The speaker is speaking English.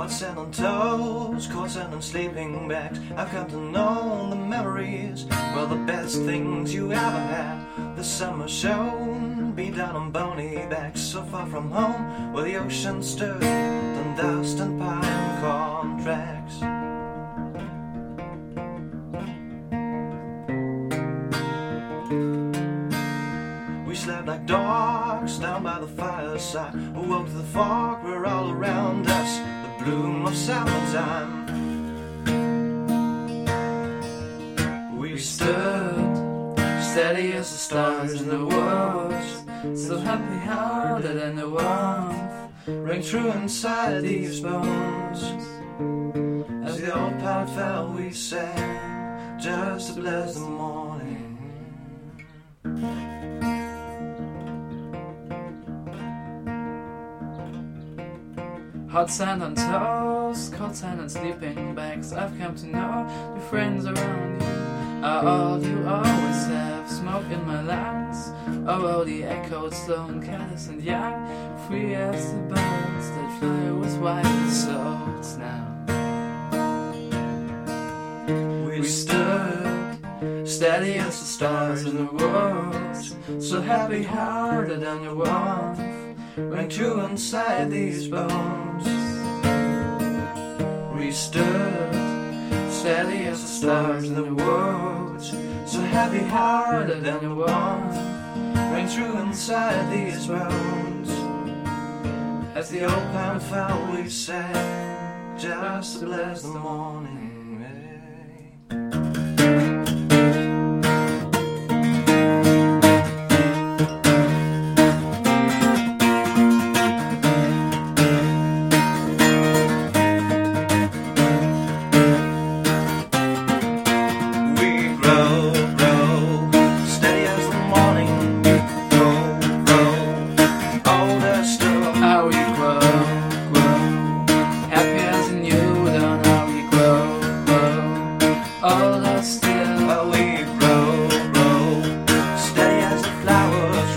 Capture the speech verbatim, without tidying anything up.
Hot sand on toes, cold sand on sleeping bags. I've come to know the memories were the best things you ever had. The summer shone, beat down on bony backs, so far from home where the ocean stood on dust and pine corn tracks. We slept like dogs down by the fireside. We woke to the fog, we're all around us, the bloom of summertime. We stood steady as the stars in the woods, so happy-hearted and the warmth rang true inside these bones. As the old part fell, we sang just to bless the morning. Hot sand on toes, cold sand on sleeping bags. I've come to know the friends around you are all you always have. Smoke in my lungs, oh, the echoed stone, careless and young, free as the birds that fly with white souls now. We stood steady as the stars in the woods, so happy-hearted and the warmth rang true inside these bones. We stood steady as the stars in the woods, so happy-hearted and the warmth rang true inside these bones. As the old pound fell, we sang just to bless the morning. Still, oh, we grow, grow, steady as the flowers